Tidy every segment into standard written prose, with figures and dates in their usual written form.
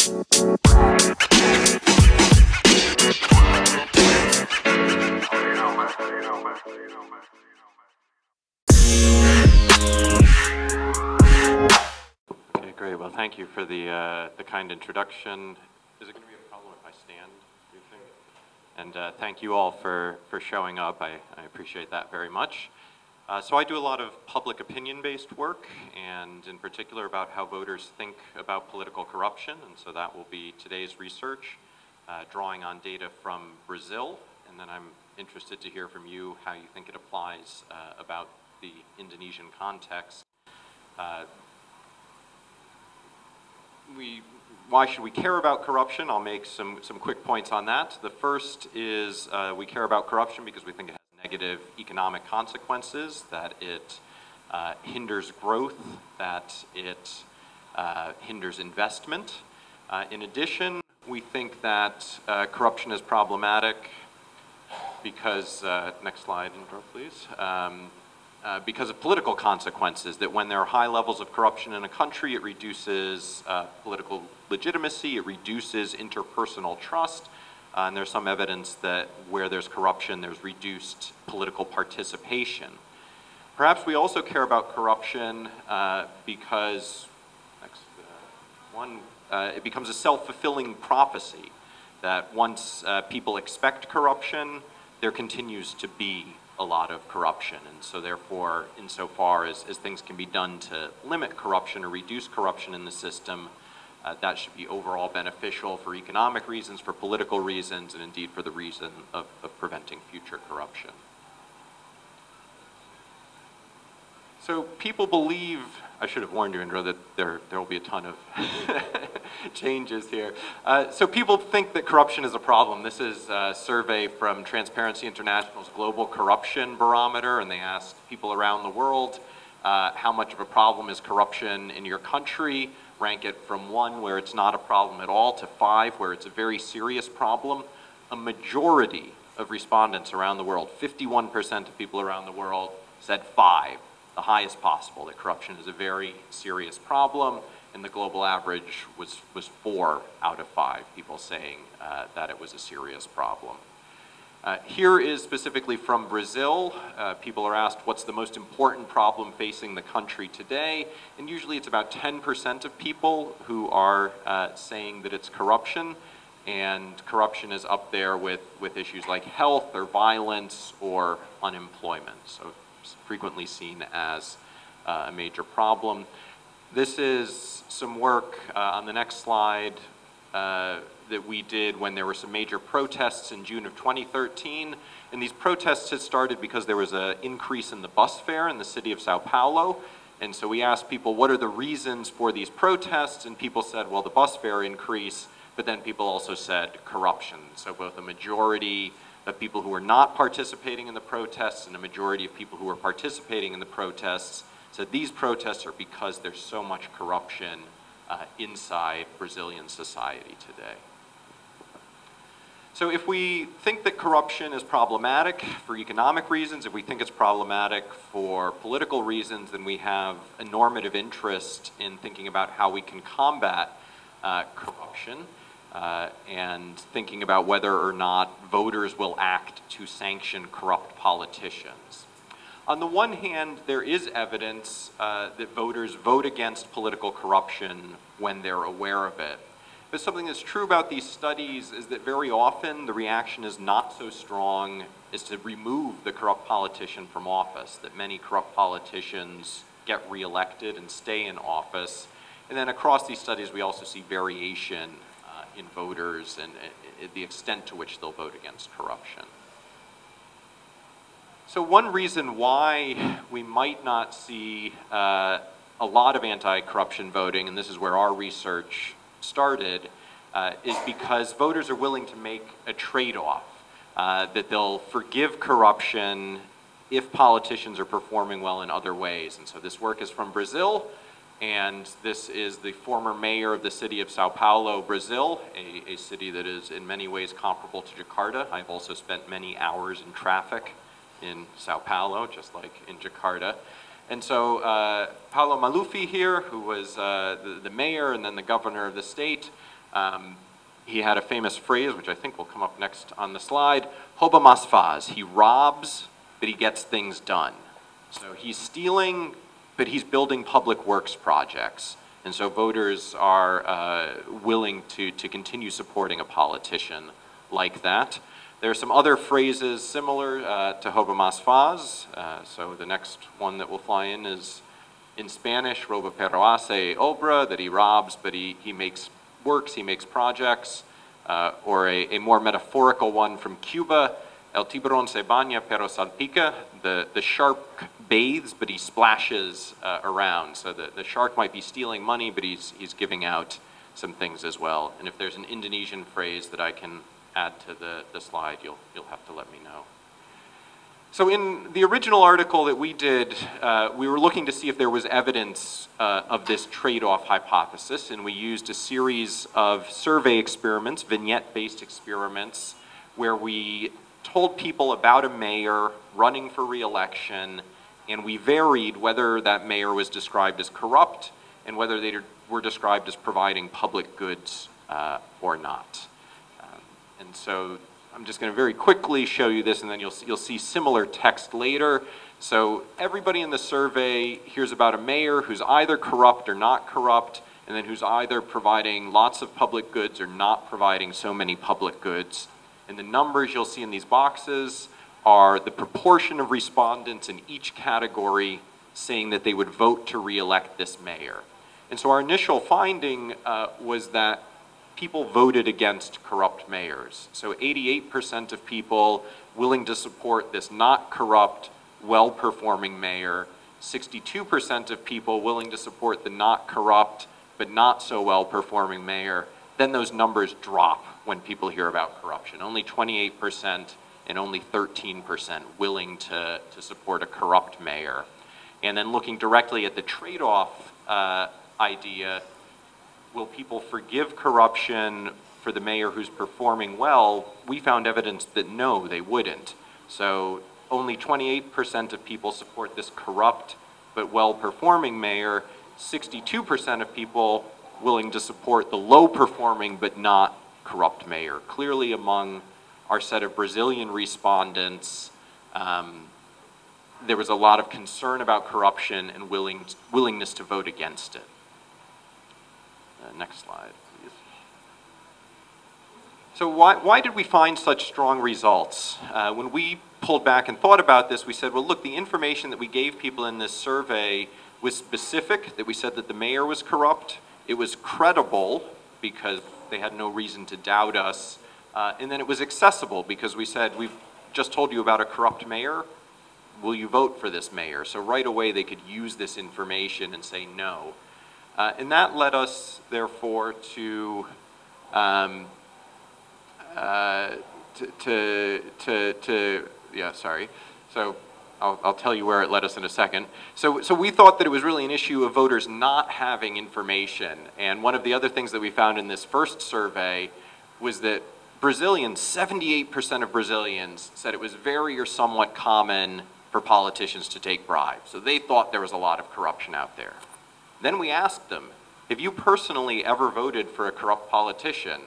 Okay, great. Well, thank you for the kind introduction. Is it going to be a problem if I stand, do you think? And thank you all for showing up. I appreciate that very much. So I do a lot of public opinion-based work, and in particular about how voters think about political corruption, and so that will be today's research, drawing on data from Brazil, and then I'm interested to hear from you how you think it applies about the Indonesian context. Why should we care about corruption? I'll make some quick points on that. The first is we care about corruption because we think it has negative economic consequences, that it hinders growth, that it hinders investment. In addition, we think that corruption is problematic because, next slide, please. Because of political consequences, that when there are high levels of corruption in a country, it reduces political legitimacy, it reduces interpersonal trust, and there's some evidence that where there's corruption, there's reduced political participation. Perhaps we also care about corruption because, it becomes a self-fulfilling prophecy, that once people expect corruption, there continues to be a lot of corruption, and so therefore, insofar as things can be done to limit corruption or reduce corruption in the system, that should be overall beneficial for economic reasons, for political reasons, and indeed for the reason of preventing future corruption. So people believe, I should have warned you, Indra, that there will be a ton of changes here. So people think that corruption is a problem. This is a survey from Transparency International's Global Corruption Barometer, and they asked people around the world how much of a problem is corruption in your country. Rank it from 1, where it's not a problem at all, to 5, where it's a very serious problem. A majority of respondents around the world, 51% of people around the world, said 5. The highest possible, that corruption is a very serious problem, and the global average was 4 out of 5 people saying that it was a serious problem. Here is specifically from Brazil. People are asked what's the most important problem facing the country today, and usually it's about 10% of people who are saying that it's corruption, and corruption is up there with issues like health or violence or unemployment. So frequently seen as a major problem. This is some work on the next slide that we did when there were some major protests in June of 2013. And these protests had started because there was an increase in the bus fare in the city of Sao Paulo. And so we asked people, what are the reasons for these protests? And people said, well, the bus fare increase, but then people also said corruption. So both a majority of people who were not participating in the protests and a majority of people who were participating in the protests said these protests are because there's so much corruption inside Brazilian society today. So if we think that corruption is problematic for economic reasons, if we think it's problematic for political reasons, then we have a normative interest in thinking about how we can combat corruption. And thinking about whether or not voters will act to sanction corrupt politicians. On the one hand, there is evidence that voters vote against political corruption when they're aware of it. But something that's true about these studies is that very often the reaction is not so strong as to remove the corrupt politician from office, that many corrupt politicians get reelected and stay in office. And then across these studies, we also see variation in voters and the extent to which they'll vote against corruption. So one reason why we might not see a lot of anti-corruption voting, and this is where our research started, is because voters are willing to make a trade-off, that they'll forgive corruption if politicians are performing well in other ways. And so this work is from Brazil, and this is the former mayor of the city of Sao Paulo, Brazil, a city that is in many ways comparable to Jakarta. I've also spent many hours in traffic in Sao Paulo, just like in Jakarta. And so Paulo Maluf here, who was the mayor and then the governor of the state, He had a famous phrase, which I think will come up next on the slide, "Rouba mas faz." He robs, but he gets things done. So he's stealing, but he's building public works projects. And so voters are willing to continue supporting a politician like that. There are some other phrases similar to "Rouba mas faz." So the next one that will fly in is in Spanish, "Rouba pero hace obra," that he robs, but he makes works, he makes projects. Or a more metaphorical one from Cuba, "El tiburón se baña pero salpica." The shark bathes, but he splashes around. So the shark might be stealing money, but he's giving out some things as well. And if there's an Indonesian phrase that I can add to the slide, you'll have to let me know. So in the original article that we did, we were looking to see if there was evidence of this trade-off hypothesis, and we used a series of survey experiments, vignette-based experiments, where we told people about a mayor running for re-election, and we varied whether that mayor was described as corrupt and whether they were described as providing public goods or not. And so I'm just going to very quickly show you this, and then you'll see similar text later. So everybody in the survey hears about a mayor who's either corrupt or not corrupt, and then who's either providing lots of public goods or not providing so many public goods. And the numbers you'll see in these boxes are the proportion of respondents in each category saying that they would vote to re-elect this mayor. And so our initial finding was that people voted against corrupt mayors. So 88% of people willing to support this not corrupt, well-performing mayor, 62% of people willing to support the not corrupt, but not so well-performing mayor. Then those numbers drop when people hear about corruption. Only 28% and only 13% willing to support a corrupt mayor. And then looking directly at the trade-off idea, will people forgive corruption for the mayor who's performing well? We found evidence that no, they wouldn't. So only 28% of people support this corrupt but well-performing mayor, 62% of people willing to support the low-performing but not corrupt mayor. Clearly among our set of Brazilian respondents, there was a lot of concern about corruption and willingness to vote against it. Next slide, please. So why did we find such strong results? When we pulled back and thought about this, we said, well, look, the information that we gave people in this survey was specific, that we said that the mayor was corrupt. It was credible because they had no reason to doubt us. And then it was accessible because we said, we've just told you about a corrupt mayor. Will you vote for this mayor? So right away they could use this information and say no. And that led us, therefore, to yeah, sorry. So I'll tell you where it led us in a second. So we thought that it was really an issue of voters not having information. And one of the other things that we found in this first survey was that Brazilians, 78% of Brazilians said it was very or somewhat common for politicians to take bribes. So they thought there was a lot of corruption out there. Then we asked them, have you personally ever voted for a corrupt politician?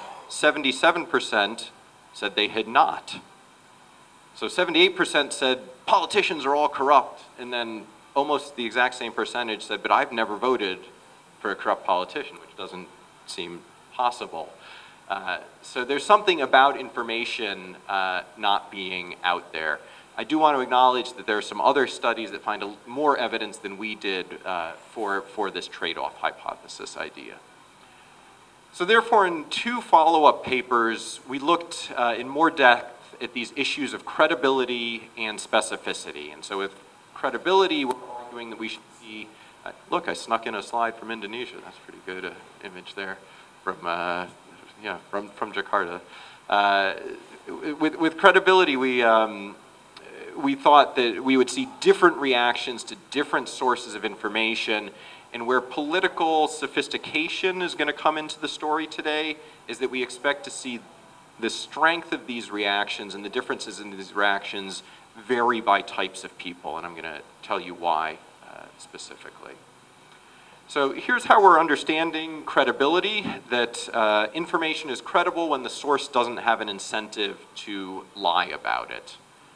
77% said they had not. So 78% said politicians are all corrupt, and then almost the exact same percentage said, but I've never voted for a corrupt politician, which doesn't seem possible. So there's something about information not being out there. I do want to acknowledge that there are some other studies that find more evidence than we did for this trade-off hypothesis idea. So therefore, in two follow-up papers, we looked in more depth at these issues of credibility and specificity. And so with credibility, we're arguing that we should see, look, I snuck in a slide from Indonesia. That's a pretty good image there from Jakarta. With credibility, we thought that we would see different reactions to different sources of information, and where political sophistication is going to come into the story today is that we expect to see the strength of these reactions and the differences in these reactions vary by types of people, and I'm going to tell you why specifically. So here's how we're understanding credibility, that information is credible when the source doesn't have an incentive to lie about it.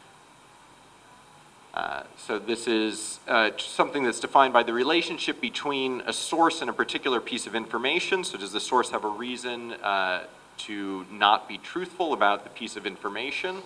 So this is something that's defined by the relationship between a source and a particular piece of information. So does the source have a reason to not be truthful about the piece of information?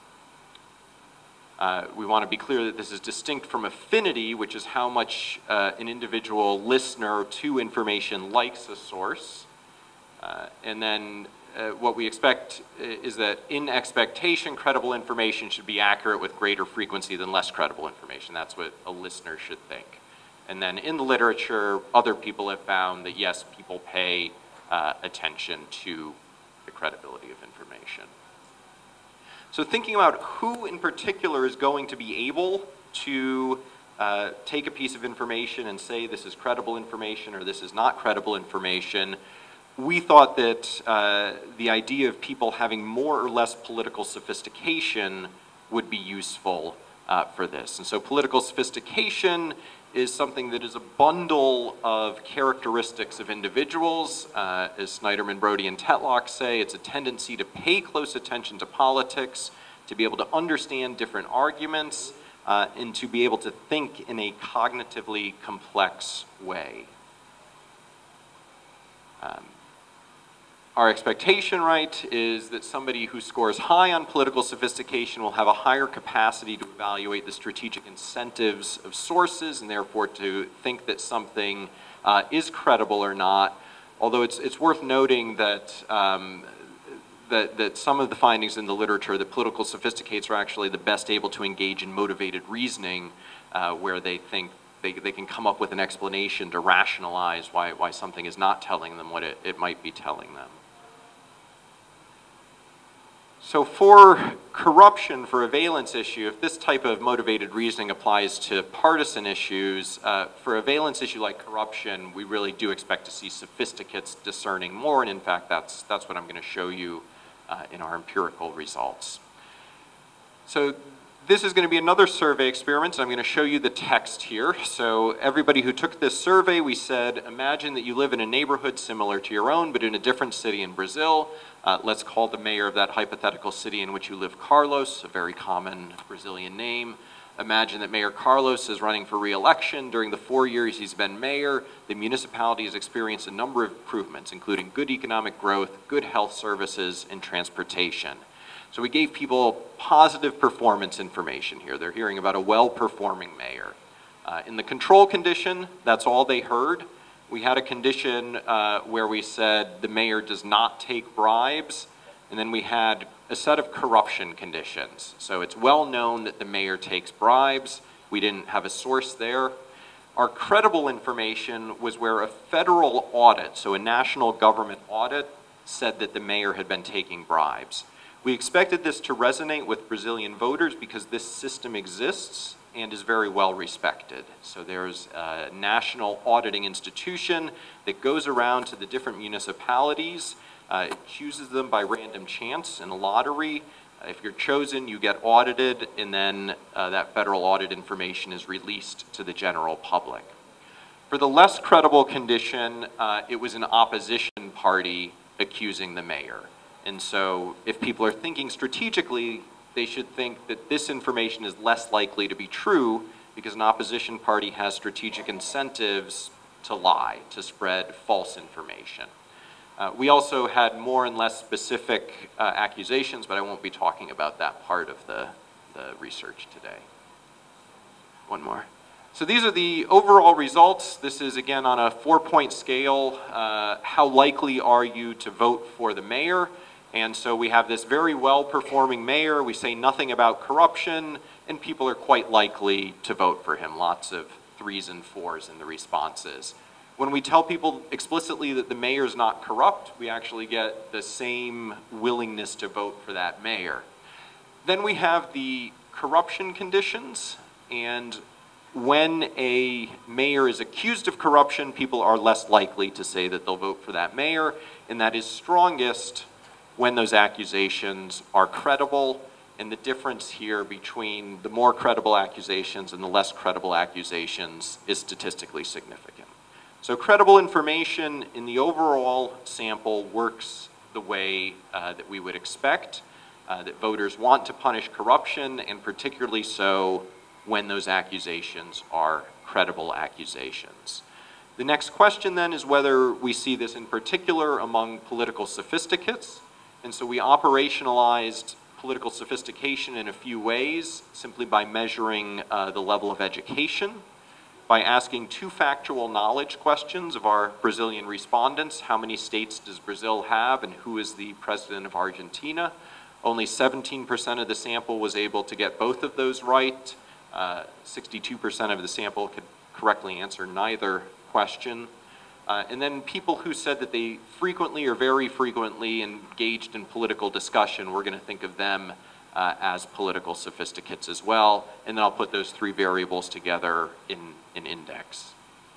We want to be clear that this is distinct from affinity, which is how much an individual listener to information likes a source. And then what we expect is that in expectation, credible information should be accurate with greater frequency than less credible information. That's what a listener should think. And then in the literature, other people have found that yes, people pay attention to the credibility of information. So thinking about who in particular is going to be able to take a piece of information and say this is credible information or this is not credible information, we thought that the idea of people having more or less political sophistication would be useful for this. And so political sophistication is something that is a bundle of characteristics of individuals. As Snyderman, Brody, and Tetlock say, it's a tendency to pay close attention to politics, to be able to understand different arguments, and to be able to think in a cognitively complex way. Our expectation, right, is that somebody who scores high on political sophistication will have a higher capacity to evaluate the strategic incentives of sources and therefore to think that something is credible or not. Although it's worth noting that, that some of the findings in the literature that political sophisticates are actually the best able to engage in motivated reasoning where they think they can come up with an explanation to rationalize why something is not telling them what it might be telling them. So for corruption, for a valence issue, if this type of motivated reasoning applies to partisan issues, for a valence issue like corruption, we really do expect to see sophisticates discerning more, and in fact, that's what I'm going to show you in our empirical results. So this is going to be another survey experiment, and I'm going to show you the text here. So everybody who took this survey, we said, imagine that you live in a neighborhood similar to your own, but in a different city in Brazil. Let's call the mayor of that hypothetical city in which you live Carlos, a very common Brazilian name. Imagine that Mayor Carlos is running for re-election. During the 4 years he's been mayor, the municipality has experienced a number of improvements, including good economic growth, good health services, and transportation. So we gave people positive performance information here. They're hearing about a well-performing mayor. In the control condition, that's all they heard. We had a condition where we said the mayor does not take bribes, and then we had a set of corruption conditions. So it's well known that the mayor takes bribes. We didn't have a source there. Our credible information was where a federal audit, so a national government audit, said that the mayor had been taking bribes. We expected this to resonate with Brazilian voters because this system exists and is very well respected. So there's a national auditing institution that goes around to the different municipalities. It chooses them by random chance in a lottery. If you're chosen, you get audited, and then that federal audit information is released to the general public. For the less credible condition, it was an opposition party accusing the mayor. And so if people are thinking strategically, they should think that this information is less likely to be true because an opposition party has strategic incentives to lie, to spread false information. We also had more and less specific accusations, but I won't be talking about that part of the research today. One more. So these are the overall results. This is, again, on a 4-point scale. How likely are you to vote for the mayor? And so we have this very well-performing mayor. We say nothing about corruption, and people are quite likely to vote for him. Lots of 3s and 4s in the responses. When we tell people explicitly that the mayor is not corrupt, we actually get the same willingness to vote for that mayor. Then we have the corruption conditions, and when a mayor is accused of corruption, people are less likely to say that they'll vote for that mayor, and that is strongest when those accusations are credible, and the difference here between the more credible accusations and the less credible accusations is statistically significant. So credible information in the overall sample works the way that we would expect, that voters want to punish corruption, and particularly so when those accusations are credible accusations. The next question then is whether we see this in particular among political sophisticates. And so we operationalized political sophistication in a few ways, simply by measuring the level of education, by asking two factual knowledge questions of our Brazilian respondents. How many states does Brazil have, and who is the president of Argentina? Only 17% of the sample was able to get both of those right. 62% of the sample could correctly answer neither question. And then people who said that they frequently or very frequently engaged in political discussion, we're going to think of them as political sophisticates as well. And then I'll put those three variables together in an index.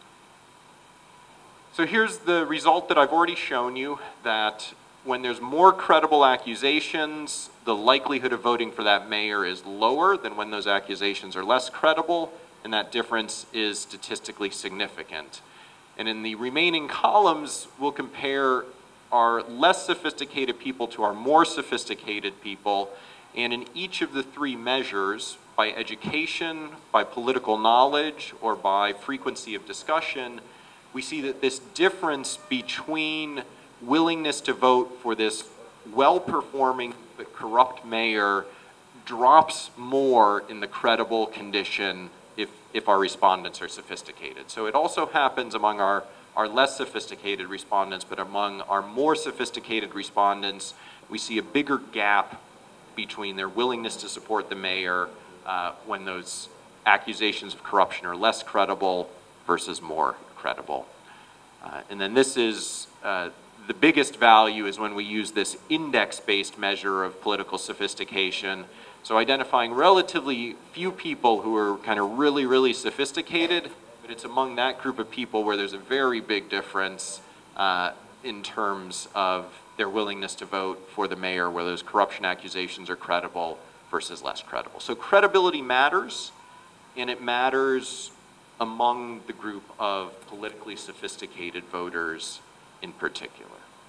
So here's the result that I've already shown you, that when there's more credible accusations, the likelihood of voting for that mayor is lower than when those accusations are less credible, and that difference is statistically significant. And in the remaining columns, we'll compare our less sophisticated people to our more sophisticated people, and in each of the three measures, by education, by political knowledge, or by frequency of discussion, we see that this difference between willingness to vote for this well-performing but corrupt mayor drops more in the credible condition if our respondents are sophisticated. So it also happens among our less sophisticated respondents, but among our more sophisticated respondents, we see a bigger gap between their willingness to support the mayor when those accusations of corruption are less credible versus more credible. And then this is the biggest value is when we use this index-based measure of political sophistication. So identifying relatively few people who are kind of really, really sophisticated, but it's among that group of people where there's a very big difference in terms of their willingness to vote for the mayor, where those corruption accusations are credible versus less credible. So credibility matters, and it matters among the group of politically sophisticated voters in particular.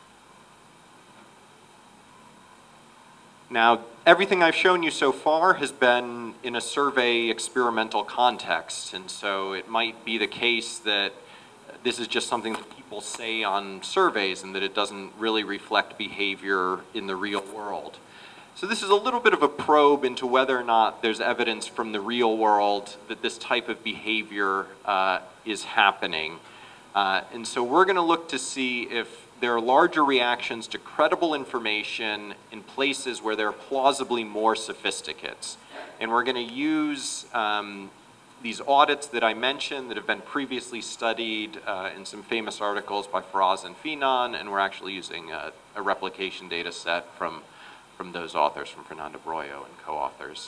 Now, everything I've shown you so far has been in a survey experimental context, and so it might be the case that this is just something that people say on surveys and that it doesn't really reflect behavior in the real world. So this is a little bit of a probe into whether or not there's evidence from the real world that this type of behavior is happening. And so we're going to look to see if there are larger reactions to credible information in places where there are plausibly more sophisticates. And we're going to use these audits that I mentioned that have been previously studied in some famous articles by Feraz and Finan, and we're actually using a replication data set from those authors, from Fernando Broyo and co-authors.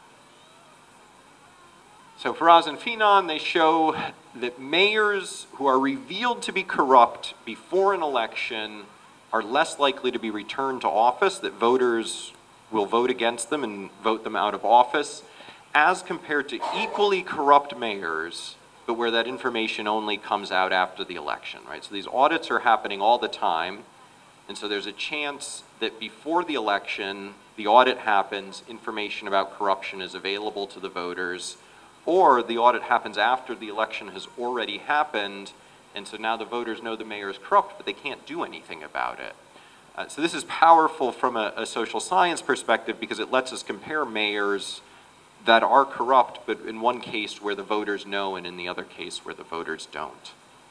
So Feraz and Finan, they show that mayors who are revealed to be corrupt before an election are less likely to be returned to office, that voters will vote against them and vote them out of office, as compared to equally corrupt mayors, but where that information only comes out after the election, right? So these audits are happening all the time, and so there's a chance that before the election, the audit happens, information about corruption is available to the voters, or the audit happens after the election has already happened, and so now the voters know the mayor is corrupt, but they can't do anything about it. So this is powerful from a social science perspective because it lets us compare mayors that are corrupt, but in one case where the voters know and in the other case where the voters don't.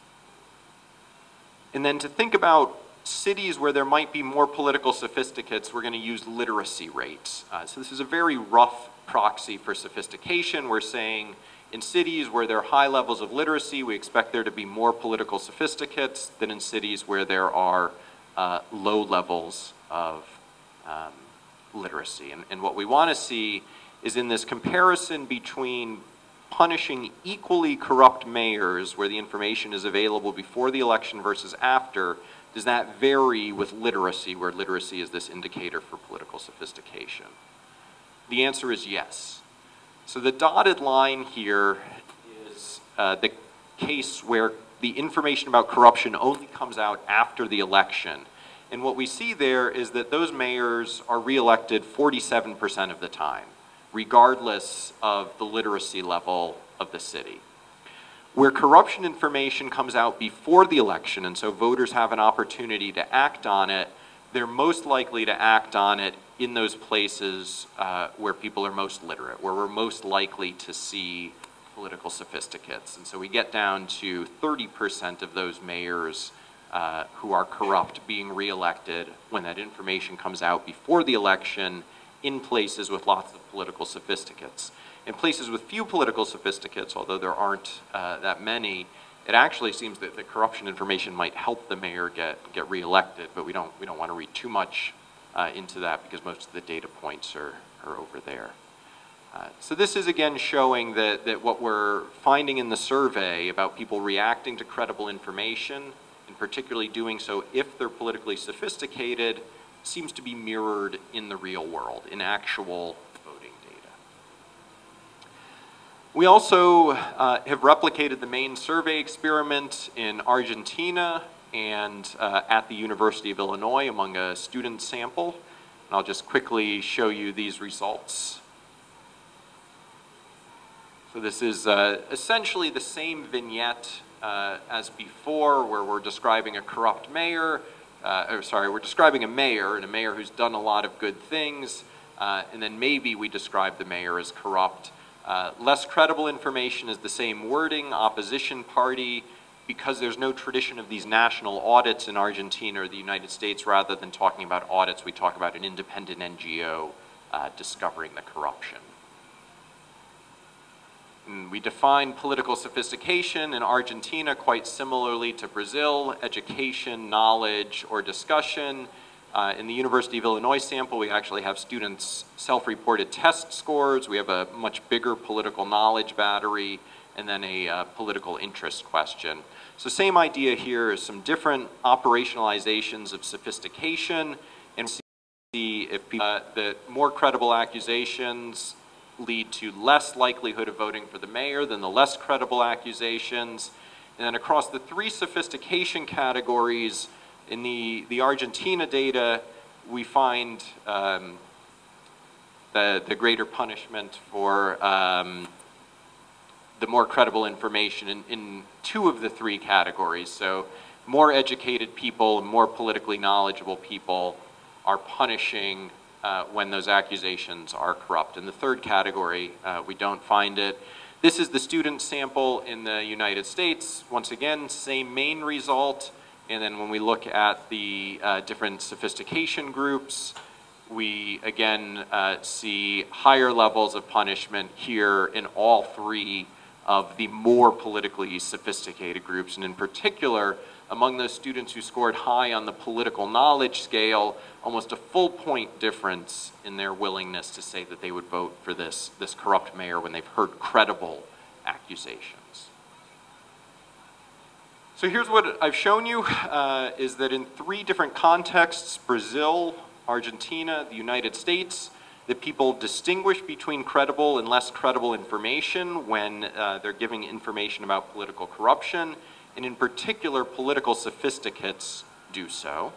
And then to think about cities where there might be more political sophisticates, we're going to use literacy rates. So this is a very rough proxy for sophistication. We're saying in cities where there are high levels of literacy, we expect there to be more political sophisticates than in cities where there are low levels of literacy. And what we want to see is in this comparison between punishing equally corrupt mayors where the information is available before the election versus after, does that vary with literacy, where literacy is this indicator for political sophistication? The answer is yes. So the dotted line here is the case where the information about corruption only comes out after the election. And what we see there is that those mayors are reelected 47% of the time, regardless of the literacy level of the city. Where corruption information comes out before the election, and so voters have an opportunity to act on it, they're most likely to act on it in those places where people are most literate, where we're most likely to see political sophisticates. And so we get down to 30% of those mayors who are corrupt being reelected when that information comes out before the election in places with lots of political sophisticates. In places with few political sophisticates, although there aren't that many, it actually seems that the corruption information might help the mayor get reelected, but we don't want to read too much into that because most of the data points are over there. So this is again showing that what we're finding in the survey about people reacting to credible information, and particularly doing so if they're politically sophisticated, seems to be mirrored in the real world, in actual voting data. We also have replicated the main survey experiment in Argentina and at the University of Illinois among a student sample. And I'll just quickly show you these results. So this is essentially the same vignette as before, where we're describing a corrupt mayor, we're describing a mayor, and a mayor who's done a lot of good things, and then maybe we describe the mayor as corrupt. Less credible information is the same wording, opposition party, because there's no tradition of these national audits in Argentina or the United States. Rather than talking about audits, we talk about an independent NGO discovering the corruption. And we define political sophistication in Argentina quite similarly to Brazil: education, knowledge, or discussion. In the University of Illinois sample, we actually have students' self-reported test scores. We have a much bigger political knowledge battery, and then a political interest question. So same idea here is some different operationalizations of sophistication, and see if the more credible accusations lead to less likelihood of voting for the mayor than the less credible accusations. And then across the three sophistication categories, in the Argentina data, we find the greater punishment for the more credible information in two of the three categories. So more educated people and more politically knowledgeable people are punishing when those accusations are corrupt. In the third category, we don't find it. This is the student sample in the United States. Once again, same main result. And then when we look at the different sophistication groups, we again see higher levels of punishment here in all three of the more politically sophisticated groups. And in particular, among those students who scored high on the political knowledge scale, almost a full point difference in their willingness to say that they would vote for this corrupt mayor when they've heard credible accusations. So here's what I've shown you, is that in three different contexts, Brazil, Argentina, the United States, that people distinguish between credible and less credible information when they're giving information about political corruption, and in particular, political sophisticates do so.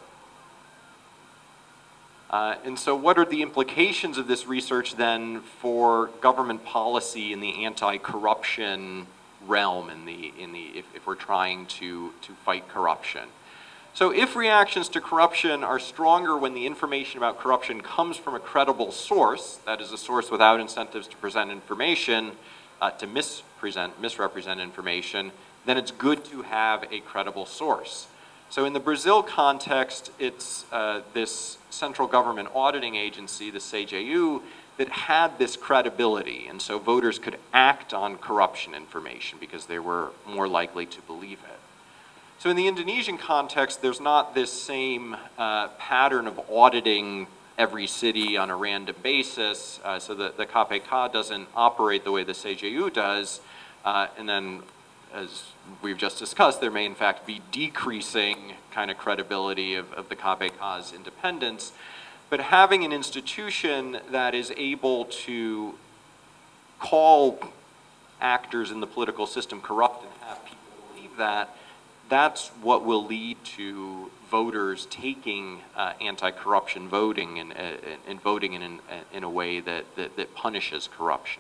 And so what are the implications of this research then for government policy in the anti-corruption realm, if we're trying to fight corruption? So if reactions to corruption are stronger when the information about corruption comes from a credible source, that is a source without incentives to present information, to misrepresent information, then it's good to have a credible source. So in the Brazil context, it's this central government auditing agency, the CGU, that had this credibility, and so voters could act on corruption information because they were more likely to believe it. So in the Indonesian context, there's not this same pattern of auditing every city on a random basis, so the KPK doesn't operate the way the CGU does, and then as we've just discussed, there may in fact be decreasing kind of credibility of the KPK's independence. But having an institution that is able to call actors in the political system corrupt and have people believe that that's what will lead to voters taking anti-corruption voting and voting in a way that punishes corruption.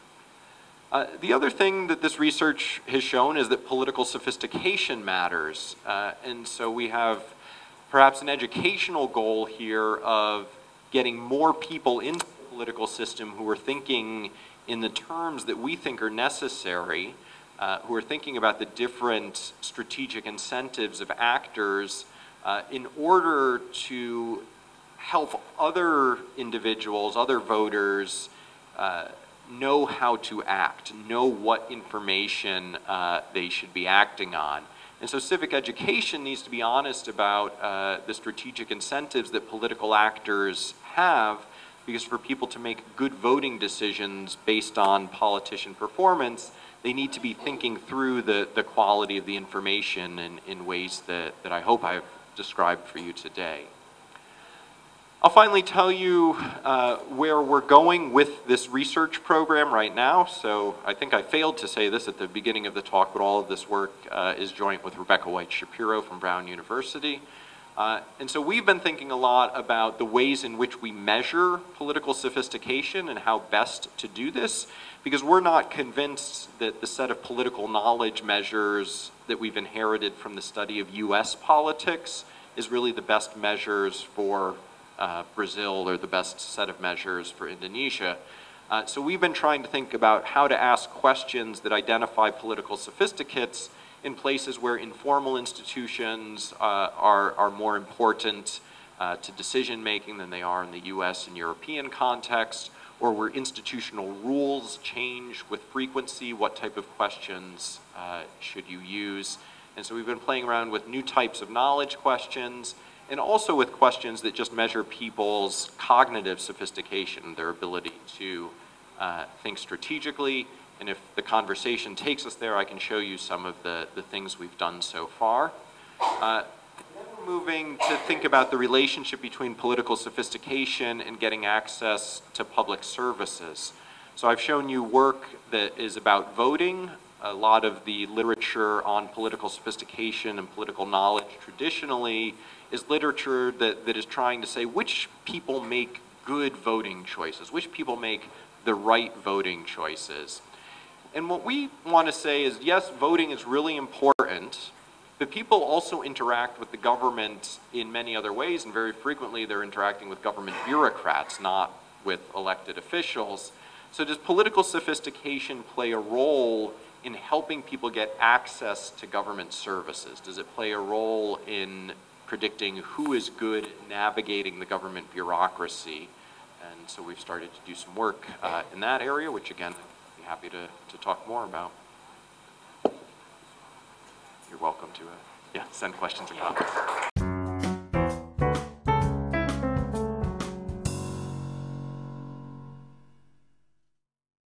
The other thing that this research has shown is that political sophistication matters. And so we have perhaps an educational goal here of getting more people into the political system who are thinking in the terms that we think are necessary, who are thinking about the different strategic incentives of actors in order to help other individuals, other voters, know how to act, know what information they should be acting on. And so civic education needs to be honest about the strategic incentives that political actors have, because for people to make good voting decisions based on politician performance, they need to be thinking through the quality of the information in ways that I hope I've described for you today. I'll finally tell you where we're going with this research program right now. So I think I failed to say this at the beginning of the talk, but all of this work is joint with Rebecca White Shapiro from Brown University. And so we've been thinking a lot about the ways in which we measure political sophistication and how best to do this, because we're not convinced that the set of political knowledge measures that we've inherited from the study of US politics is really the best measures for Brazil or the best set of measures for Indonesia. So we've been trying to think about how to ask questions that identify political sophisticates in places where informal institutions are more important to decision making than they are in the US and European context, or where institutional rules change with frequency. What type of questions should you use? And so we've been playing around with new types of knowledge questions, and also with questions that just measure people's cognitive sophistication, their ability to think strategically. And if the conversation takes us there, I can show you some of the things we've done so far. Then we're moving to think about the relationship between political sophistication and getting access to public services. So I've shown you work that is about voting. A lot of the literature on political sophistication and political knowledge traditionally is literature that is trying to say which people make good voting choices, which people make the right voting choices. And what we want to say is, yes, voting is really important, but people also interact with the government in many other ways, and very frequently they're interacting with government bureaucrats, not with elected officials. So does political sophistication play a role in helping people get access to government services? Does it play a role in predicting who is good at navigating the government bureaucracy? And so we've started to do some work in that area, which again, I'd be happy to talk more about. You're welcome to send questions and comments.